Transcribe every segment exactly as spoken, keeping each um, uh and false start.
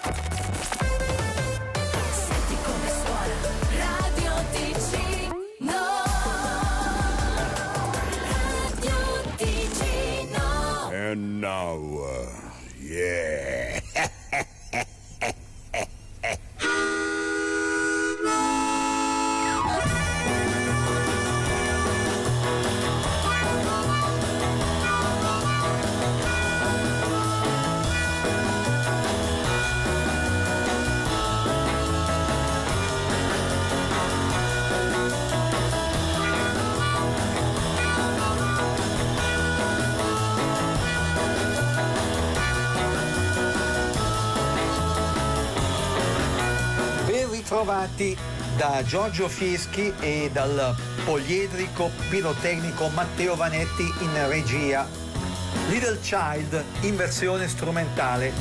Senti come suona Radio Ticino. Radio Ticino. And now, uh, yeah. Trovati da Giorgio Fieschi e dal poliedrico pirotecnico Matteo Vanetti in regia. Little Child in versione strumentale.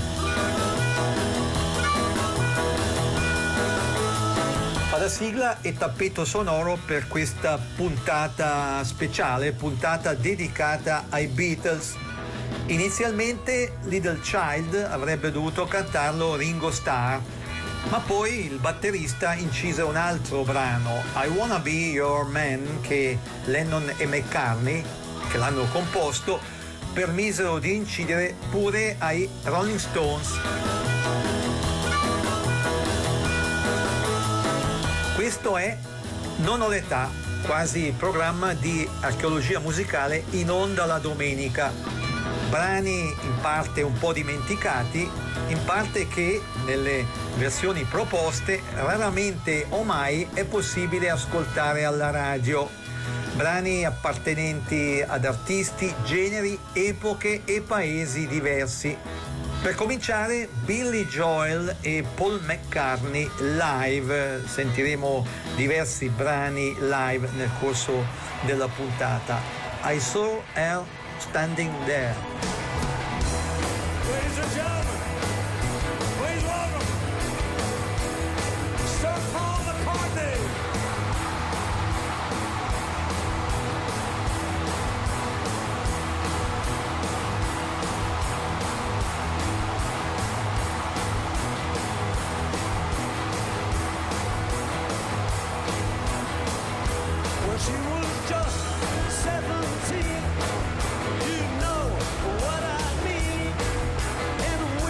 Fa da sigla e tappeto sonoro per questa puntata speciale, puntata dedicata ai Beatles. Inizialmente Little Child avrebbe dovuto cantarlo Ringo Starr, ma poi il batterista incise un altro brano, I Wanna Be Your Man, che Lennon e McCartney, che l'hanno composto, permisero di incidere pure ai Rolling Stones. Questo è Non ho l'età, quasi programma di archeologia musicale in onda la domenica. Brani in parte un po' dimenticati, in parte che nelle versioni proposte raramente o mai è possibile ascoltare alla radio. Brani appartenenti ad artisti, generi, epoche e paesi diversi. Per cominciare, Billy Joel e Paul McCartney live. Sentiremo diversi brani live nel corso della puntata. I Saw Her Standing There. Ladies and gentlemen, please welcome Sir Paul McCartney. When she was just seventeen, you know what I mean. And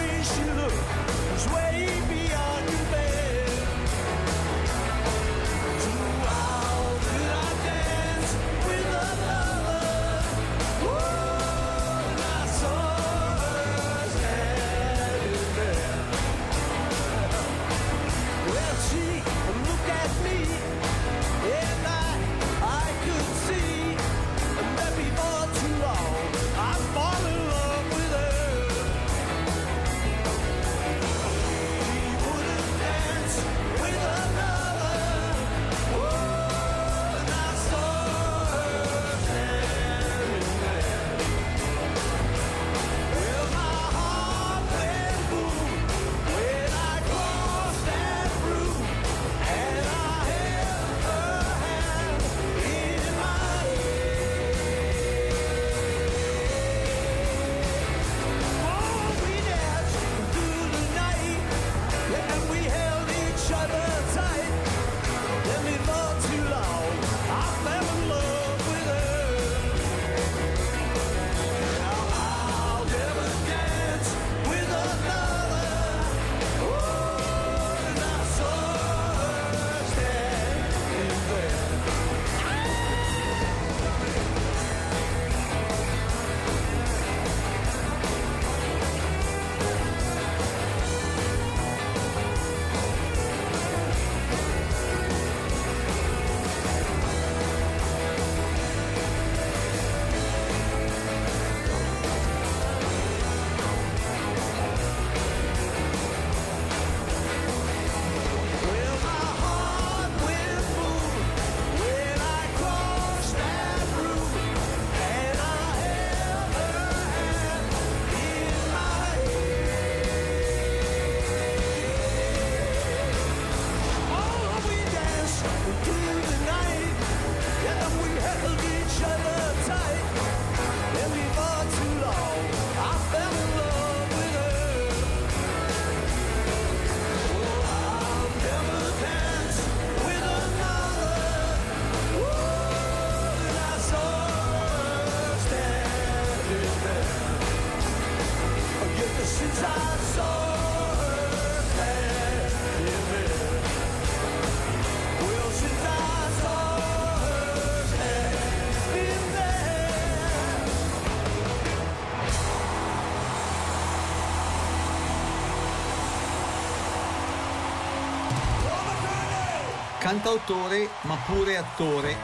cantautore ma pure attore.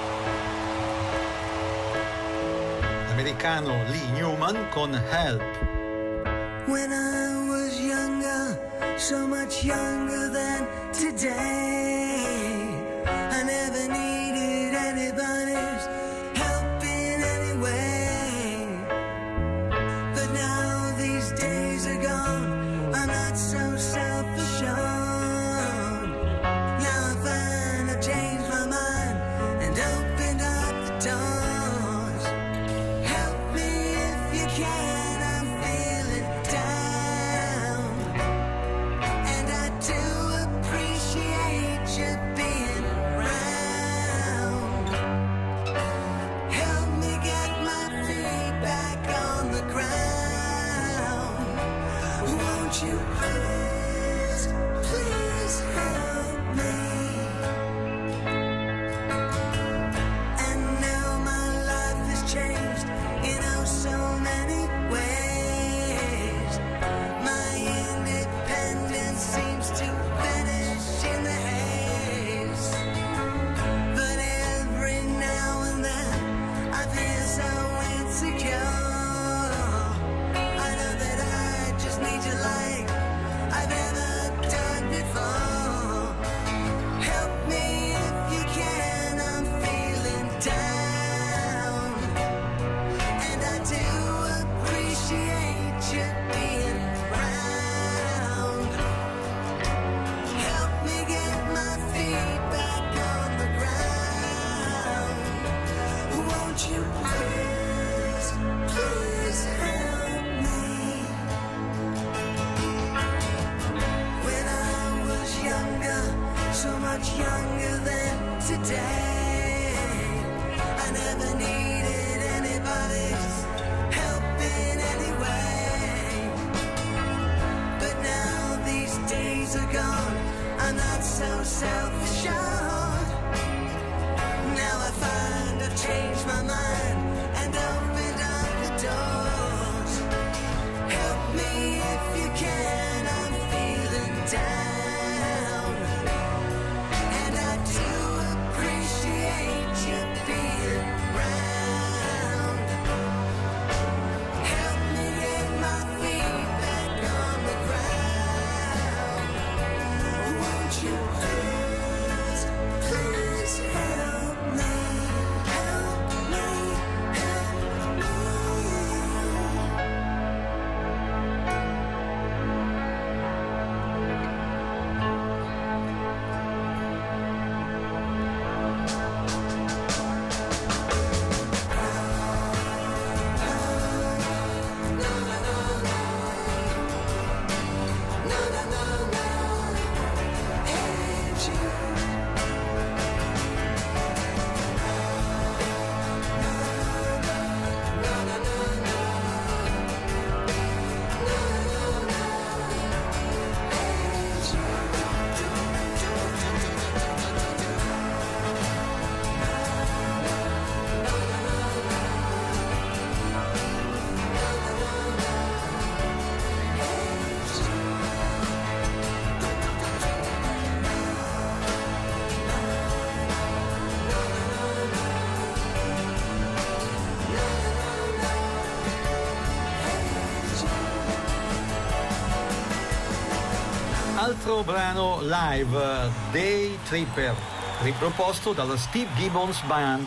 L'americano Lee Newman con Help. When I was younger, so much younger than today, I never needed anybody's help in any way. But now these days are gone, I'm not so self-assured. Now I find I've changed my mind and opened up the doors. Help me if you can, I'm feeling down. And I do appreciate you being around. Help me get my feet back on the ground. Won't you please, please help me? And now my life has changed in oh so many ways. My independence seems to vanish in the haze. But every now and then I feel so insecure. I know that I just need you like I've never done before. Help me if you can, I'm feeling down. And I do appreciate you being around. Help me get my feet back on the ground. Won't you please, please help me? When I was younger, so much younger than today, I never needed anybody's help in any way. But now these days are gone, I'm not so self-assured. Now I find I've changed my mind and opened up the doors. Help me if you can, I'm feeling down. And I do appreciate you being around. Help me get my feet back on the ground. Won't you please, please help me, help me, help me. Altro brano live, Day Tripper, riproposto dalla Steve Gibbons Band.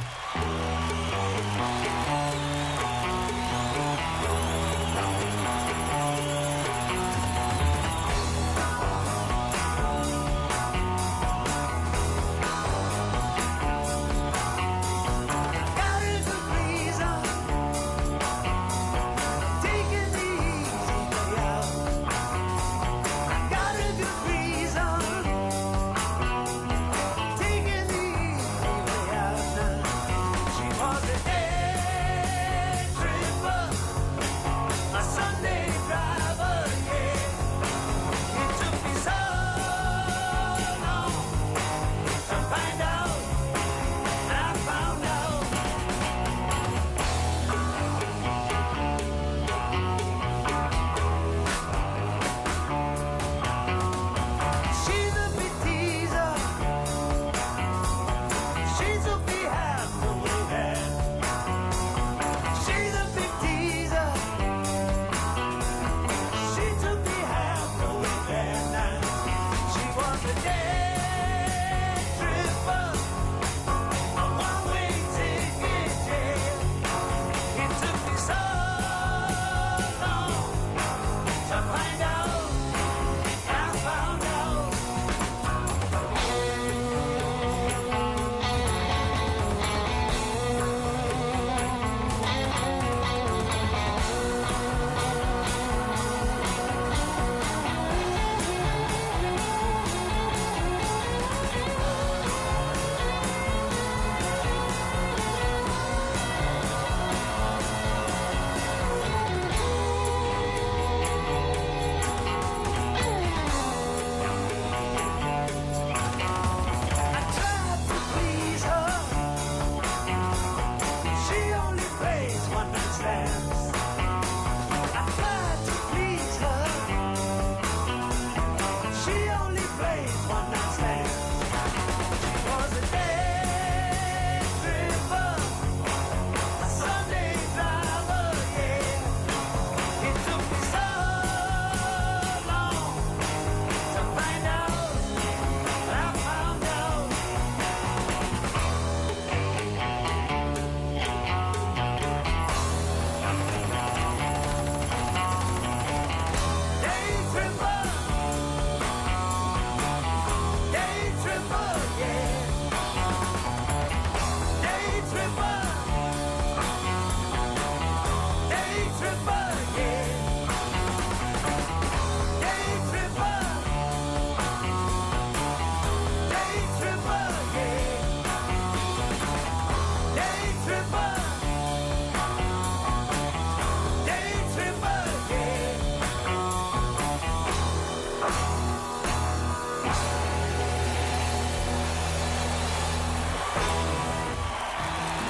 Taking the easy way out now.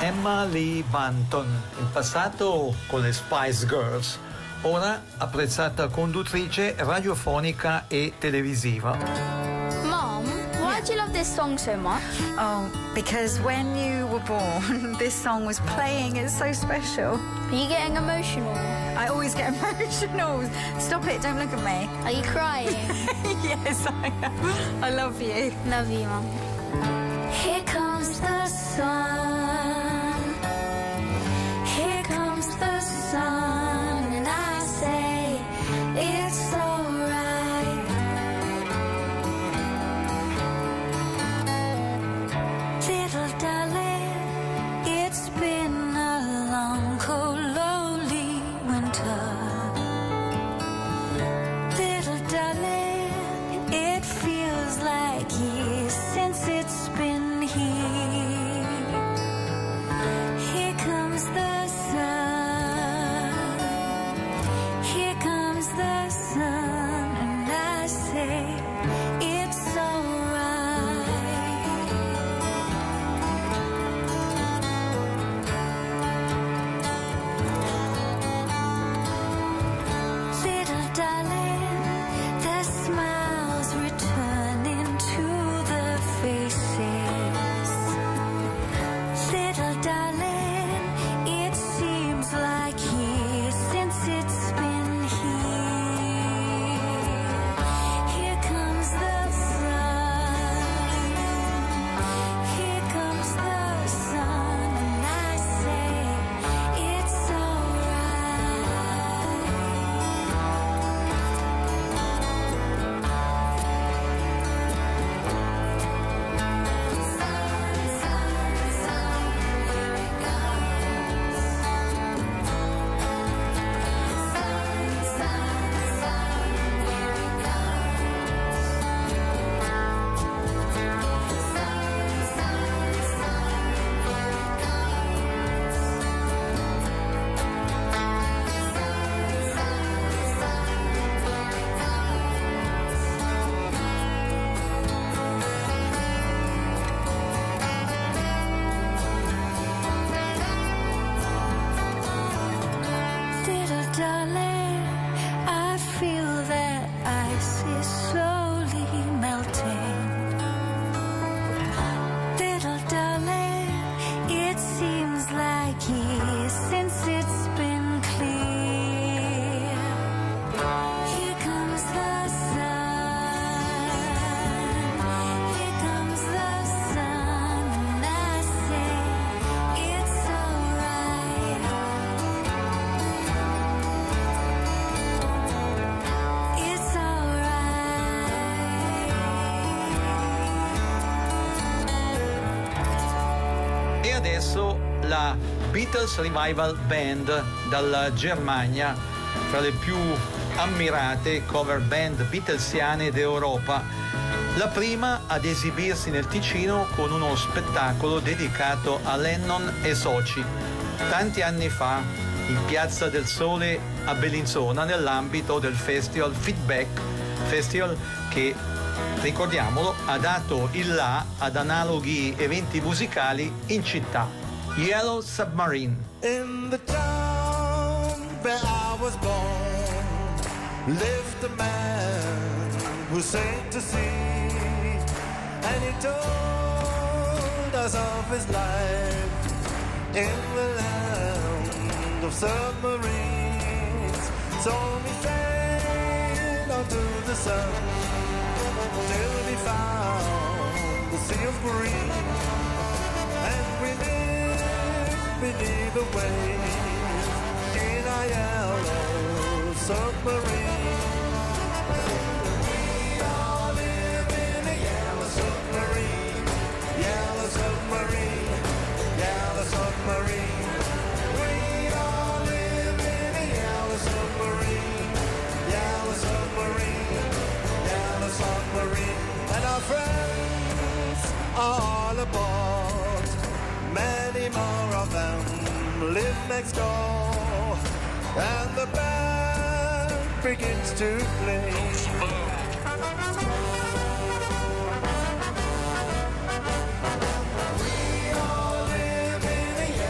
Emma Lee Banton, in passato con le Spice Girls, ora apprezzata conduttrice radiofonica e televisiva. Mom, why do you love this song so much? Oh, because when you were born, this song was playing. It's so special. Are you getting emotional? I always get emotional. Stop it, don't look at me. Are you crying? Yes, I am. I love you. Love you, Mum. Here comes the sun. Here comes the sun. And I say it's alright. Little darling, it's been a long, cold, lonely winter. Little darling, it feels like years since it's been here. Here comes the sun. Here comes the sun, and I say it's alright. Little darling, the smiles returning to the faces. Little darling, it seems like years since it's been here. Here comes the sun. Here comes the sun, and I say it's alright. Little darling, I feel that ice is slowly melting. Little darling, it seems like years since it's been clear. Here comes the sun. Here comes the sun, and I say it's alright. It's alright. E adesso la Beatles Revival Band dalla Germania, tra le più ammirate cover band beatlesiane d'Europa. La prima ad esibirsi nel Ticino con uno spettacolo dedicato a Lennon e soci, tanti anni fa in Piazza del Sole a Bellinzona nell'ambito del festival Feedback, festival che, ricordiamolo, ha dato il là ad analoghi eventi musicali in città. Yellow Submarine. In the town where I was born lived a man who sailed to sea, and he told us of his life in the land of submarines. So we sailed onto the sun till we found the sea of green, and we lived beneath the waves in a yellow submarine. We all live in a yellow submarine, yellow submarine, yellow submarine. We all live in a yellow submarine, yellow submarine, yellow submarine. And our friends are all aboard, many more of them live next door, and the band begins to play. We all live in a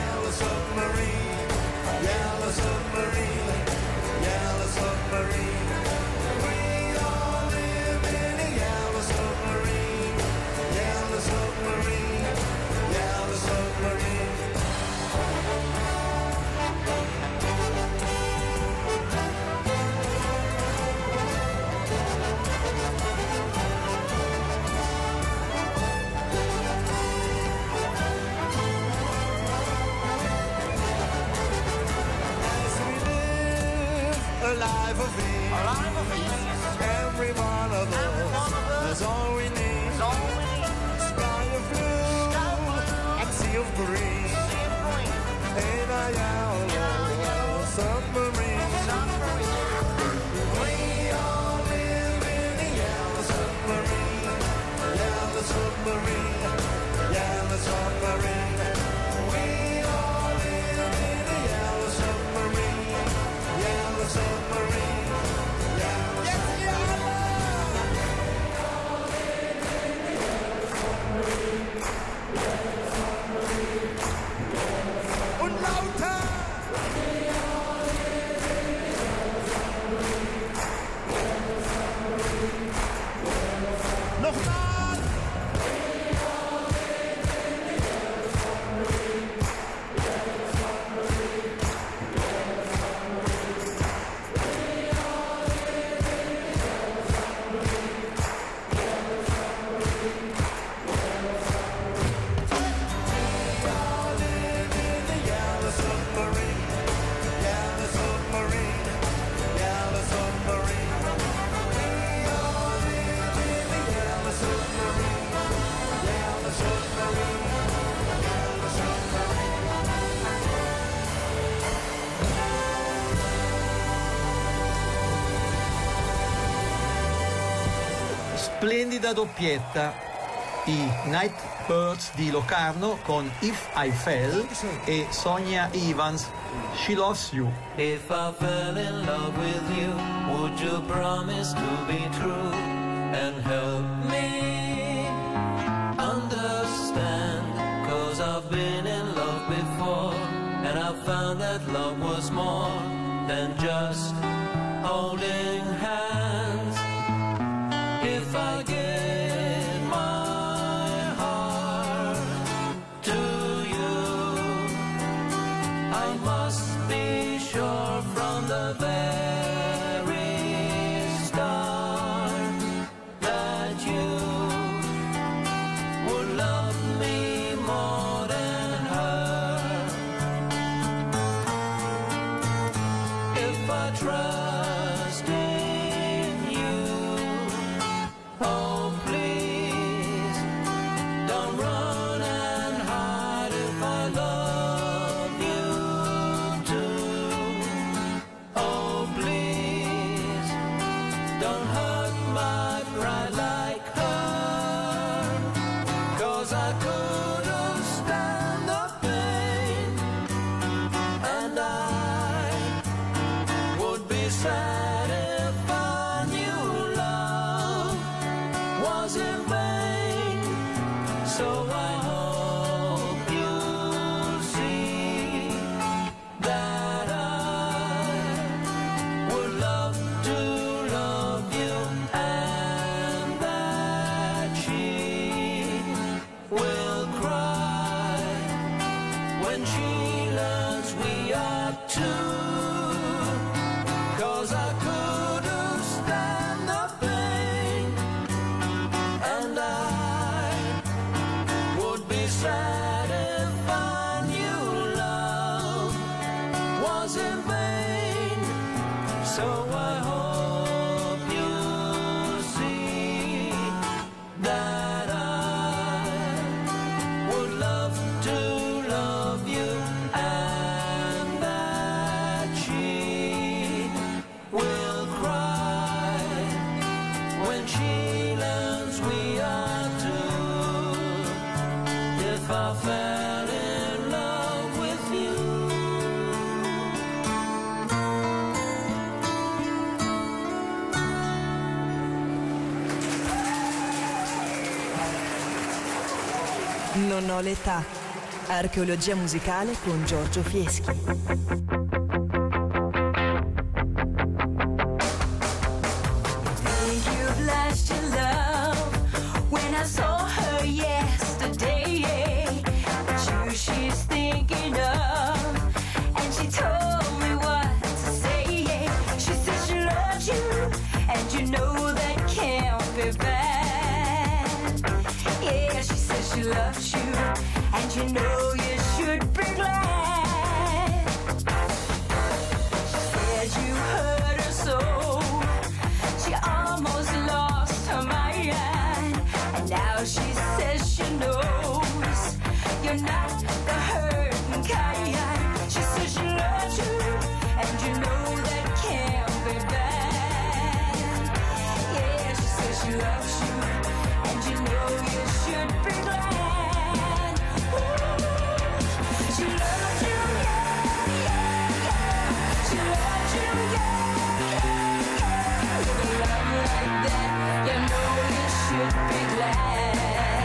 a life of ease. Every one of us is all we need. Sky of blue and sea of green. In a yellow submarine. We all live in a yellow submarine. Yellow submarine. Yellow submarine. We all live in a yellow submarine. Yellow submarine. Yellow submarine. Und lauter! Nochmal! Splendida doppietta, i Nightbirds di Locarno con If I Fell e Sonia Evans, She Loves You. If I fell in love with you, would you promise to be true and help me understand? 'Cause I've been in love before and I found that love was more than just holding hands. If I give my heart to you, I must be sure from the very start that you would love me more than her. If I trust in you, oh please, don't run and hide if I love you too. Oh please, don't hurt my pride like her. 'Cause I couldn't stand the pain, and I would be sad if I knew love was in vain. So I hope you'll see that I would love to love you and that she will cry when she learns we are two. 'Cause I couldn't stand the pain, and I would be sad if I knew love was in vain. So I hope you see that I would love to love you and that she will cry when she learns we are two. If I fell in love with you. Non ho l'età. Archeologia musicale con Giorgio Fieschi. You've lost your love when I saw her yesterday. It's you she's thinking of, and she told me what to say. She said she loves you, and you know that can't be bad. Yeah, she said she loves you, and you know you should be glad. She said you heard her Well, she says she knows you're not the hurting kind. She says she loves you, and you know that can't be bad. Yeah, she says she loves you, and you know you should be glad. Ooh, she loves you, yeah, yeah, yeah. She loves you, yeah, yeah, yeah. With a love like that, you know you should be glad.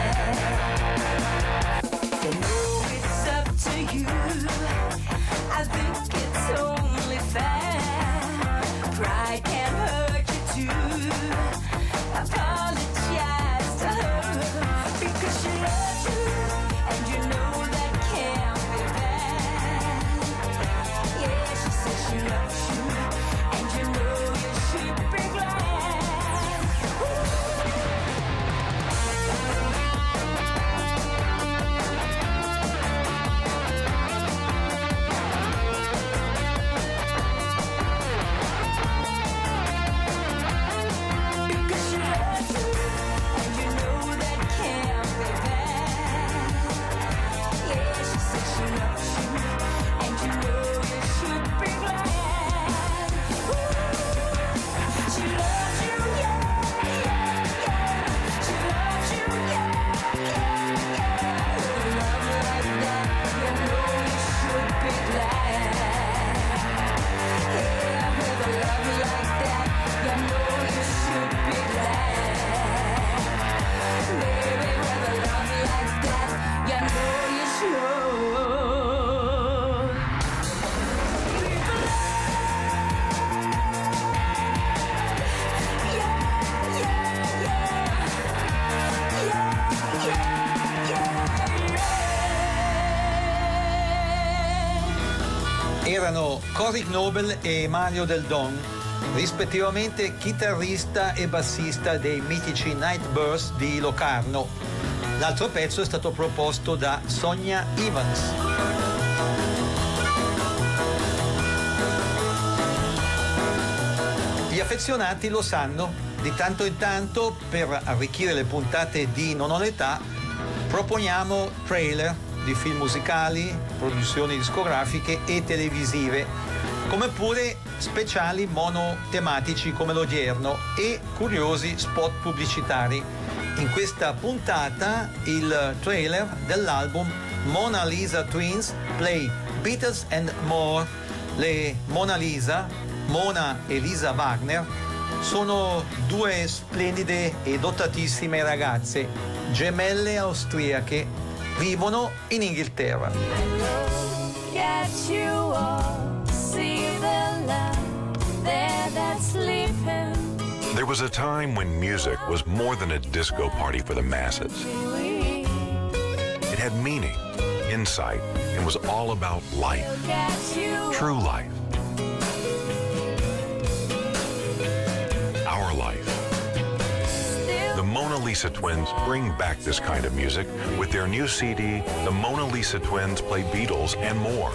You know it's up to you. I think it's only fair. Pride can hurt you too. Apologize to her because she loves you, and you know that can't be bad. Yeah, she says she loves you, and you know you should be glad. Ooh. Because she loves you, and you know that can't be bad. Yeah, she says she loves you, and you know you should be glad. Ooh. She loves you, yeah, yeah, yeah. She loves you, yeah, yeah, yeah. With a love like that, you know you should be glad. Yeah, with a love like that, you know you should be glad. Baby, with a love like that, you know you should be glad. Yeah, yeah, yeah. Yeah, yeah, yeah, yeah. Erano Cory Knobel e Mario Del Don, rispettivamente chitarrista e bassista dei mitici Nightbirds di Locarno. L'altro pezzo è stato proposto da Sonia Evans. Gli affezionati lo sanno, di tanto in tanto per arricchire le puntate di Non ho l'età proponiamo trailer di film musicali, produzioni discografiche e televisive, come pure speciali monotematici come l'odierno e curiosi spot pubblicitari. In questa puntata il trailer dell'album Mona Lisa Twins Play Beatles and More. Le Mona Lisa, Mona e Lisa Wagner, sono due splendide e dotatissime ragazze, gemelle austriache, vivono in Inghilterra. Get you all, see the land there that's sleeping. There was a time when music was more than a disco party for the masses. It had meaning, insight, and was all about life, true life. Our life. The Mona Lisa Twins bring back this kind of music with their new C D, The Mona Lisa Twins Play Beatles and More.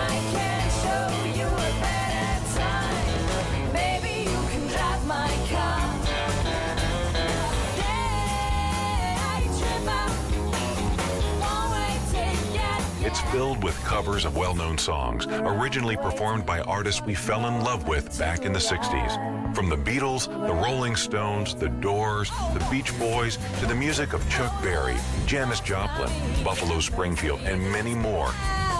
It's filled with covers of well-known songs, originally performed by artists we fell in love with back in the sixties. From the Beatles, the Rolling Stones, the Doors, the Beach Boys, to the music of Chuck Berry, Janis Joplin, Buffalo Springfield, and many more.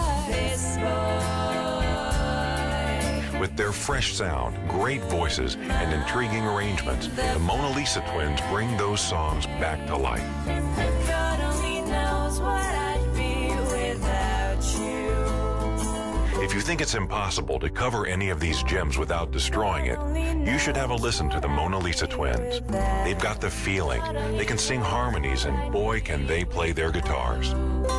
With their fresh sound, great voices, and intriguing arrangements, the Mona Lisa Twins bring those songs back to life. God only knows what I'd be without you. If you think it's impossible to cover any of these gems without destroying it, you should have a listen to the Mona Lisa Twins. They've got the feeling. They can sing harmonies, and boy, can they play their guitars.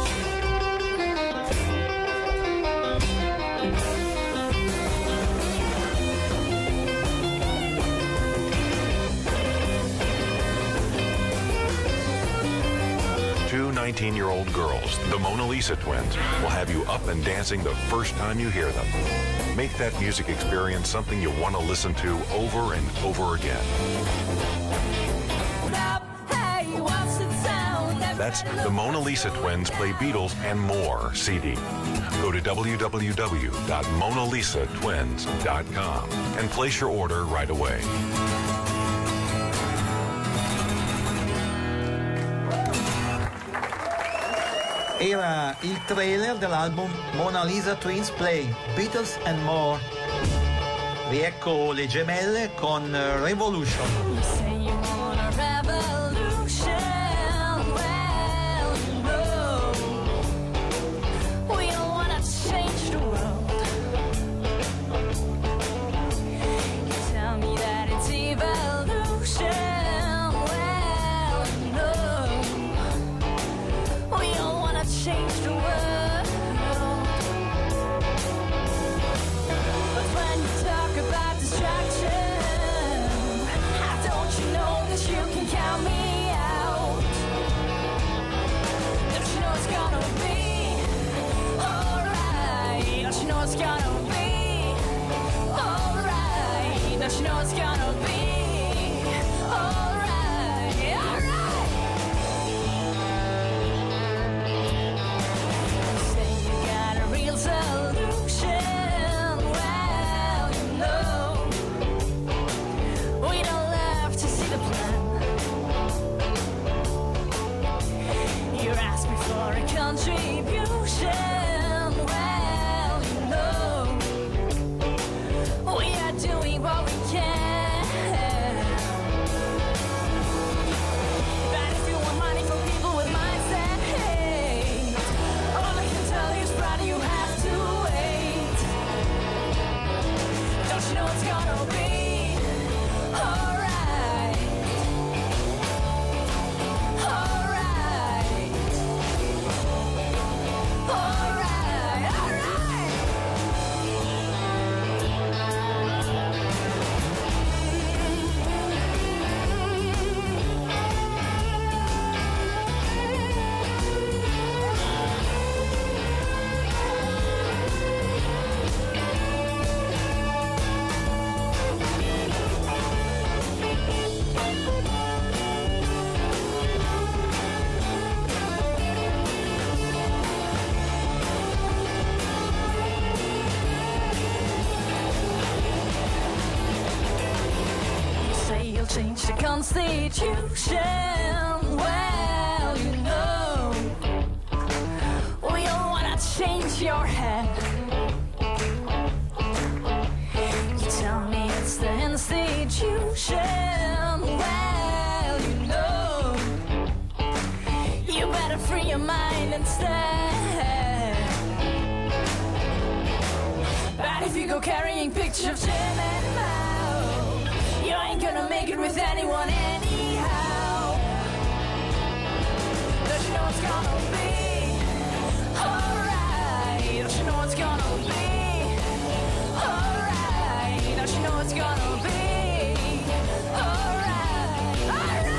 Two nineteen-year-old girls, the Mona Lisa Twins, will have you up and dancing the first time you hear them. Make that music experience something you want to listen to over and over again. Stop, hey, what's it sound That's the Mona Lisa Twins Play Beatles and More C D. Go to w w w dot mona lisa twins dot com and place your order right away. Era il trailer dell'album Mona Lisa Twins Play Beatles and More. Riecco le gemelle con Revolution. You say you want a revolution. Well, you know, we don't want to change the world. You tell me that it's evolution. Well, you know, we don't want to change the world. But when you talk about distraction, don't you know that you can count me out? Don't you know it's gonna be alright? Don't you know it's gonna be alright? Don't you know it's gonna be alright? Alright. You say you got a real solution. Well, you know, we don't love to see the plan. You ask me for a contribution. Well, you know, we are doing what we can. But if you want money from people with mindset hate, all I can tell you is, brother, you have to wait. Don't you know it's gonna be alright? Alright. Alright, alright. You say you'll change the Constitution. Well, you know, we don't wanna change your head. You tell me it's the institution. Well, you know, you better free your mind instead. But if you go carrying pictures of Jim and Mao, you ain't gonna make it with anyone anyhow. Don't you know it's gonna be alright? Don't you know it's gonna be alright? Don't you know it's gonna be alright? Alright.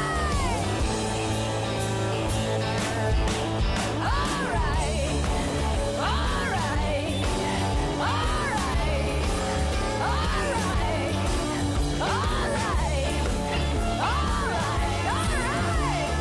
Alright. Alright. Alright. Alright. Alright. Alright. Alright.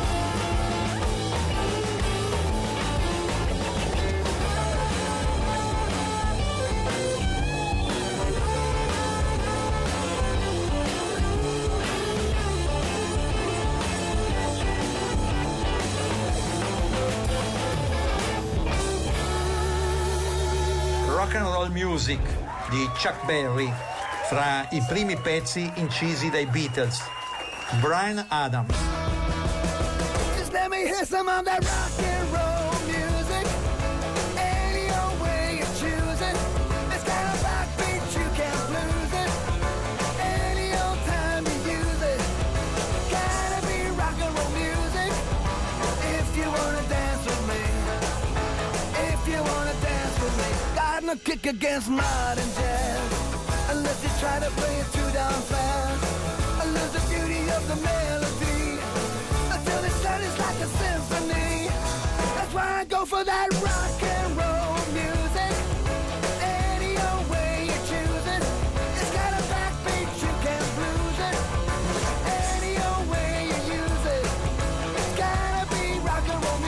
Rock and Roll Music di Chuck Berry, fra i primi pezzi incisi dai Beatles. Bryan Adams. Just let me hear some of that rock and roll music. Any old way you choose it. It's got a backbeat, you can't lose it. Any old time you use it. Gotta be rock and roll music. If you wanna dance with me. If you wanna dance with me. Got no kick against modern jazz. Unless you try to play it too down fast. I lose the beauty of the melody. Until the sound is like a symphony. That's why I go for that rock and roll music. Any old way you choose it. It's got a backbeat, you can't lose it. Any old way you use it. It's gotta be rock and roll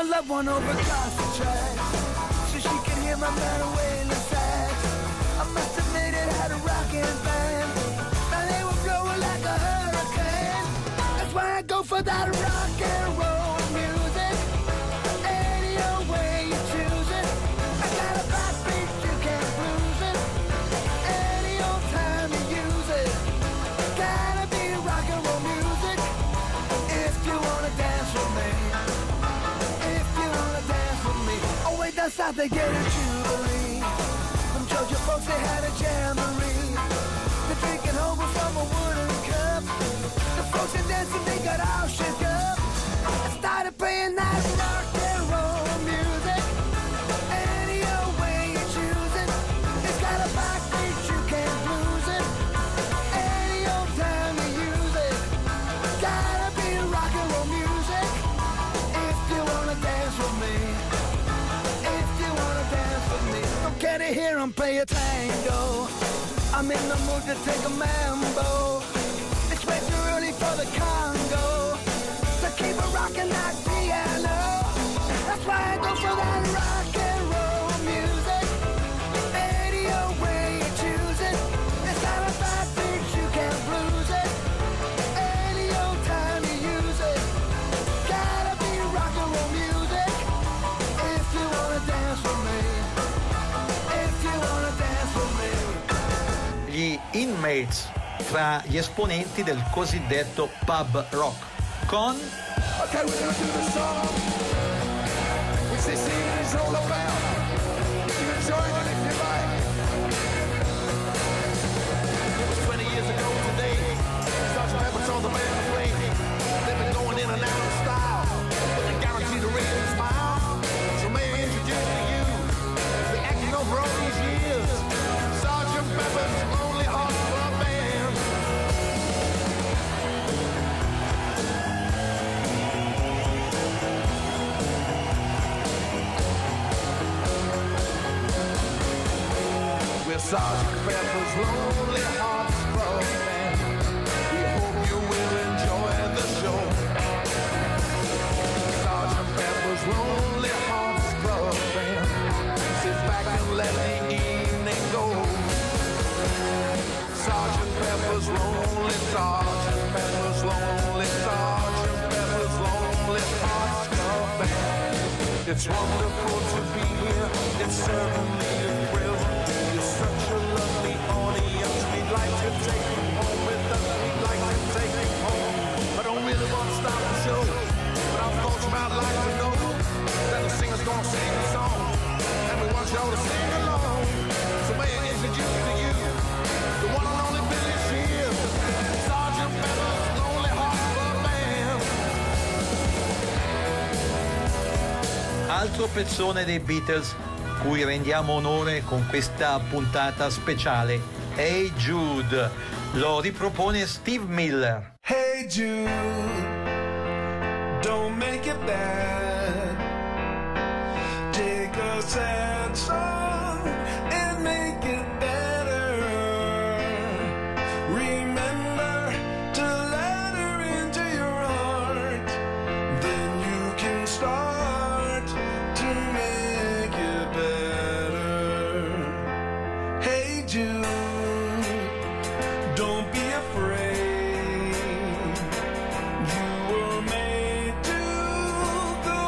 loved one over across the tracks, so she could hear my man wailing sax. I must admit it had a rockin' band. Now they were blowing like a hurricane. That's why I go for that rock and roll music. Any old way you choose it. I got a backbeat, you can't lose it. Any old time you use it. Gotta be rock and roll music. If you wanna dance with me. If you wanna dance with me. Oh wait, that's how they get a jubilee. Them Georgia folks, they had a jamboree. They're drinking over from a wooden cup. The folks are dancing, they got all shook up. I started playing that rock and roll music. Any old way you choose it. It's got a backbeat, you can't lose it. Any old time you use it. Gotta be rock and roll music. If you wanna dance with me. If you wanna dance with me. Don't care to hear 'em play a tango. I'm in the mood to take a mambo. It's way too early for the Congo, so keep it rockin' that piano. That's why I go for that rock and roll music. Any old way you choose it. It's got a backbeat, you can't lose it. Any old time you use it. Gotta be rock and roll music. If you wanna dance with me. If you wanna dance with me. Gli Inmates, fra gli esponenti del cosiddetto pub rock, con Okay, we're gonna do the song which this evening is all about. You enjoy it if you like. It was twenty years ago today. Sergeant Pepper's on the band plane. They've been going in and out of style, but they guarantee to raise a smile. So may I introduce to you the acting over all these years, Sergeant Pepper's Lonely Hearts Club Band. We're Sergeant Pepper's Lonely Hearts Club Band. We hope you will enjoy the show. Sergeant Pepper's Lonely Hearts Club Band. Sit back and let the evening go. Sergeant Pepper's Lonely, Sergeant Pepper's Lonely, Sergeant Pepper's Lonely Hearts Club Band. It's wonderful to be here. It's certainly a thrill. You're such a lovely audience. We'd like to take you home with us. We'd like to take you home. I don't really want to stop the show, but I thought you might like to know that the singer's gonna sing a song, and we want y'all to sing along. So may I introduce to you the one and only Billy Shears, Sergeant Pepper's Lonely Hearts Club Band. altro pezzone dei Beatles cui rendiamo onore con questa puntata speciale, Hey Jude. Lo ripropone Steve Miller. Hey Jude, don't make it bad. Take a sad song and make it better. Remember to let her into your heart. Then you can start to make it better. Hey Jude, don't be afraid. You were made to go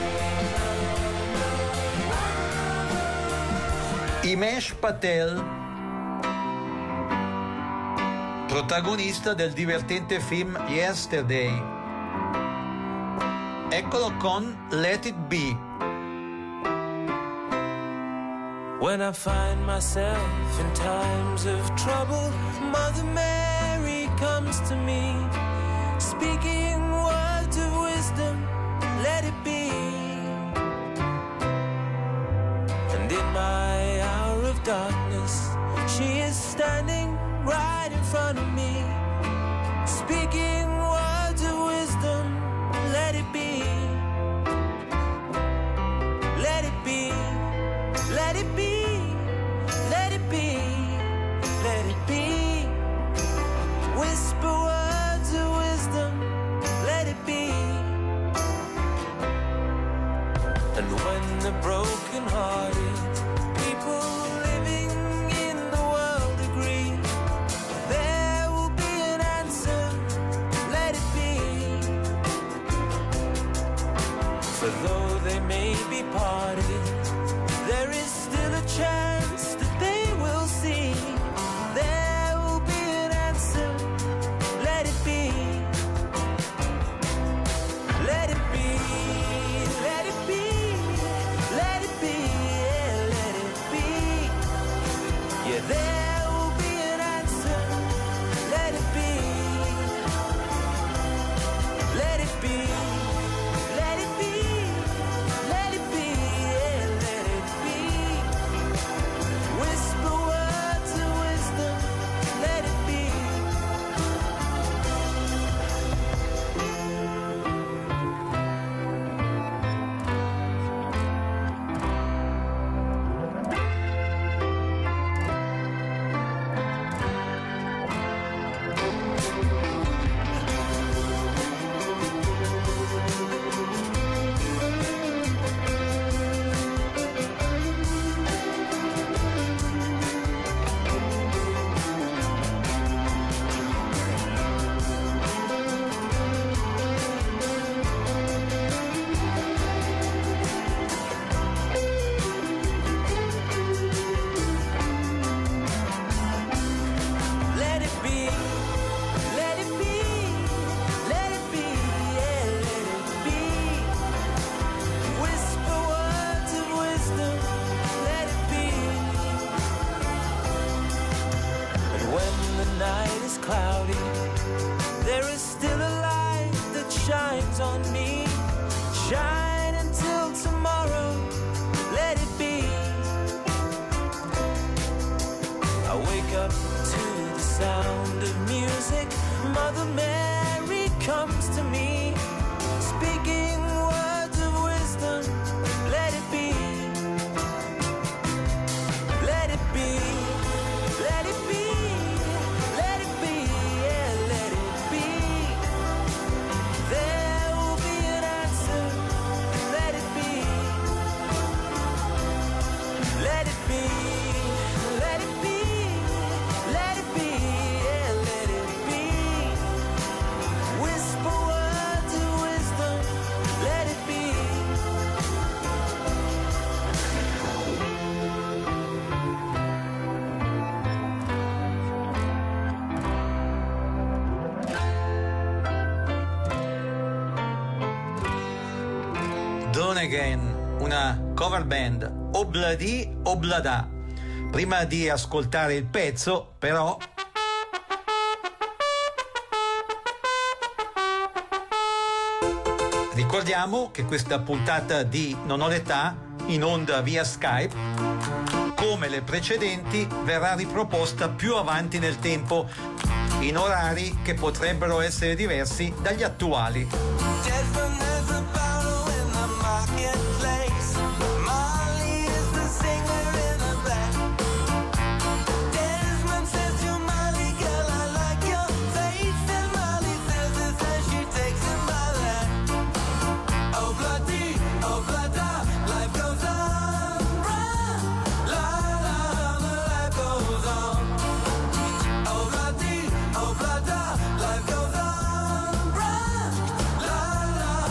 Himesh Patel, protagonista del divertente film Yesterday. Eccolo con Let It Be. When I find myself in times of trouble, Mother Mary comes to me, speaking words of wisdom, let it be. And in my hour of darkness, she is standing right in front of me, speaking words of wisdom, let it be. Let it be. Let it be. Let it be. Let it be. Whisper words of wisdom, let it be. And when the broken-hearted people living in the world agree, there will be an answer, let it be. For though they may be parted, there is still a chance that they will see. There will be an answer, let it be. Let it be, let it be, let it be, yeah, let it be. Yeah, there will be an answer, let it be. Let it be, let it be, let it be, yeah, let it be. Whisper words of wisdom, let it be. Let it be, let it be, let it be, yeah, let it be. Whisper words of wisdom, let it be. And when the night is cloudy, there is still a light that shines on me. Shine until tomorrow, let it be. I wake up to the sound of music. Mother Mary comes to me, speaking words of wisdom, let it be. Let it be, let it be, let it be, yeah, let it be. There will be an answer, let it be. Let it be, let it be, let it be, yeah, let it be. Whisper words of wisdom, let it be. Dawn Again, una cover band, Obladi Oblada. Prima di ascoltare il pezzo, però, ricordiamo che questa puntata di Non ho l'età, in onda via Skype, come le precedenti, verrà riproposta più avanti nel tempo, in orari che potrebbero essere diversi dagli attuali. Desmond is a battle in the marketplace. Molly is the singer in the back. Desmond says to Molly, girl, I like your face. And Molly says this as she takes him by that. Oh, bloody, oh, bloody, life goes on. Run, la, la, the life goes on. Oh, bloody, oh, bloody, life goes on. Run, la, la.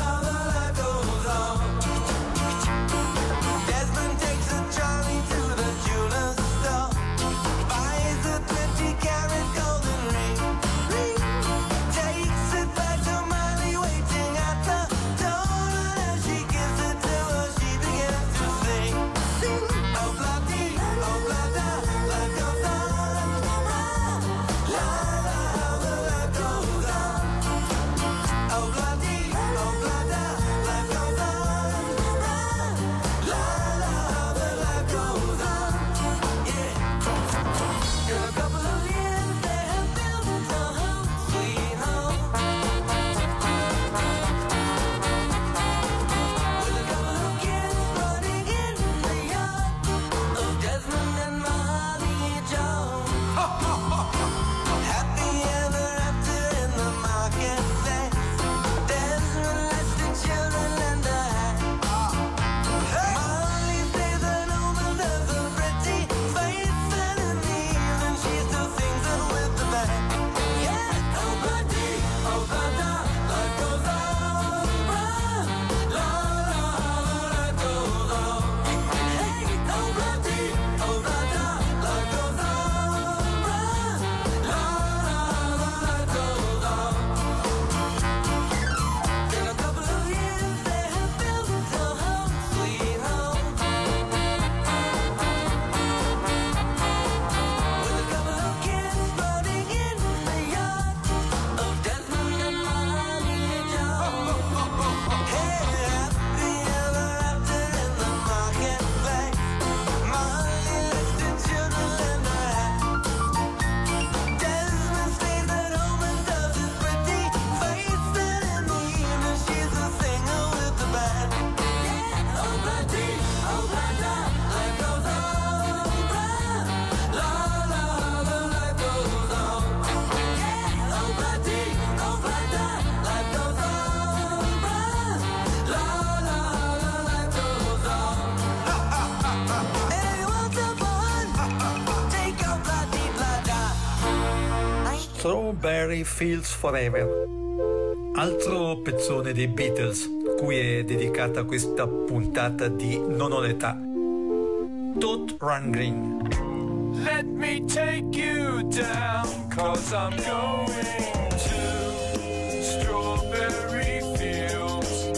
Strawberry Fields Forever, altro pezzone dei Beatles cui è dedicata questa puntata di Non ho l'età. Todd Rundgren. Let me take you down, cause I'm going to strawberry fields.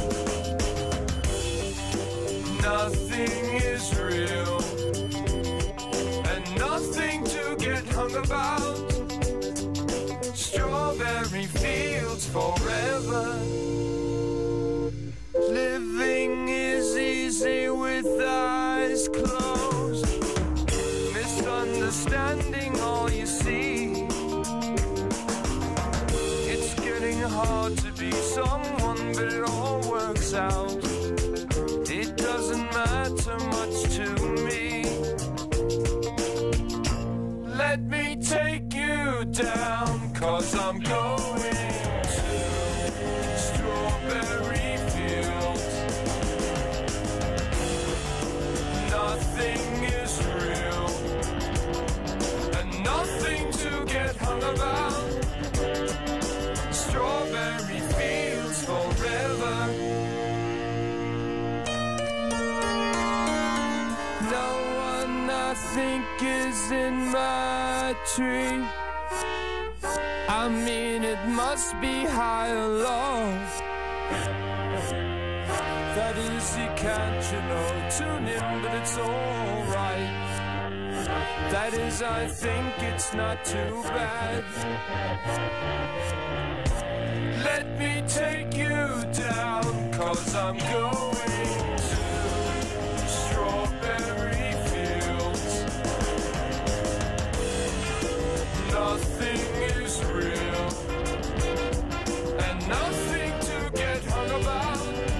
Nothing is real, and nothing to get hung about. Strawberry fields forever. Living is easy with eyes closed. Misunderstanding all you see. It's getting hard to be someone, but it all works out. It doesn't matter much to me. Let me take you down, cause I'm going to strawberry fields. Nothing is real, and nothing to get hung about. Strawberry fields forever. No one I think is in my tree. I mean, it must be high or low. That is, you can't, you know, tune in, but it's alright. That is, I think it's not too bad. Let me take you down, cause I'm going to strawberry fields. Nothing is real, and nothing to get hung about.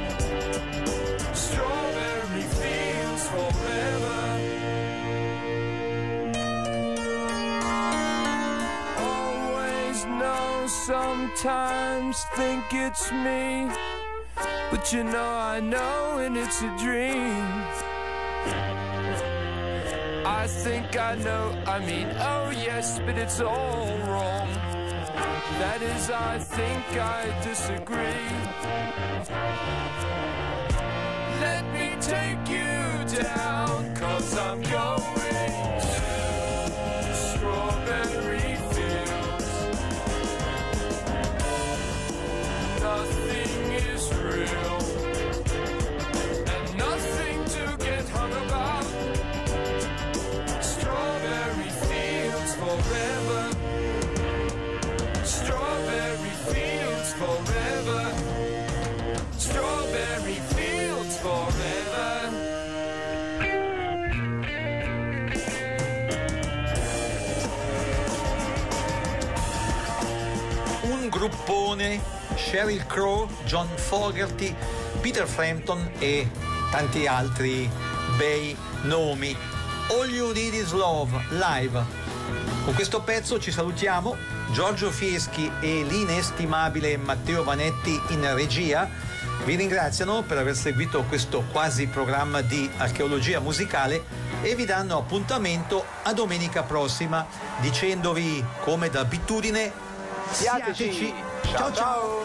Strawberry fields forever. Always know, sometimes think it's me, but you know I know, and it's a dream. I think I know, I mean, oh yes, but it's all wrong. That is, I think I disagree. Let me take you down, cause I'm going to strawberry fields. Nothing is real, and nothing to get hung about. Strawberry fields forever. Strawberry fields forever. Strawberry fields forever. Un gruppone, Sheryl Crow, John Fogerty, Peter Frampton e tanti altri bei nomi. All You Need Is Love, live. Con questo pezzo ci salutiamo. Giorgio Fieschi e l'inestimabile Matteo Vanetti in regia vi ringraziano per aver seguito questo quasi programma di archeologia musicale e vi danno appuntamento a domenica prossima dicendovi, come d'abitudine, siateci. Ciao ciao.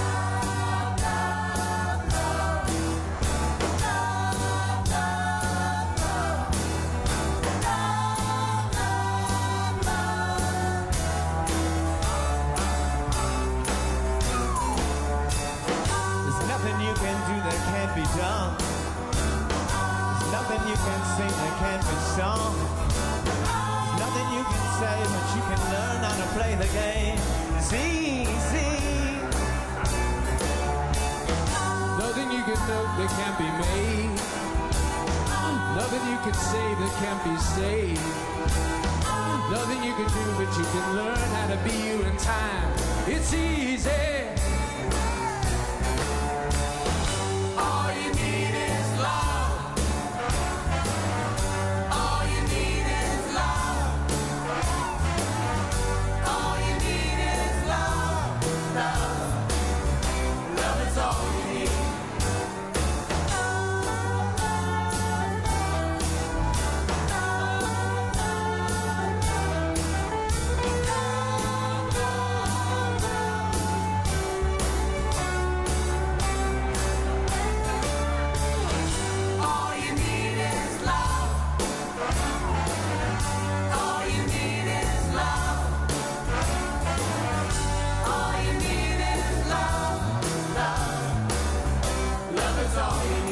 Be done. There's nothing you can sing that can't be sung. There's nothing you can say, but you can learn how to play the game. It's easy. Nothing you can know that can't be made. Nothing you can say that can't be saved. Nothing you can do, but you can learn how to be you in time. It's easy. that's all he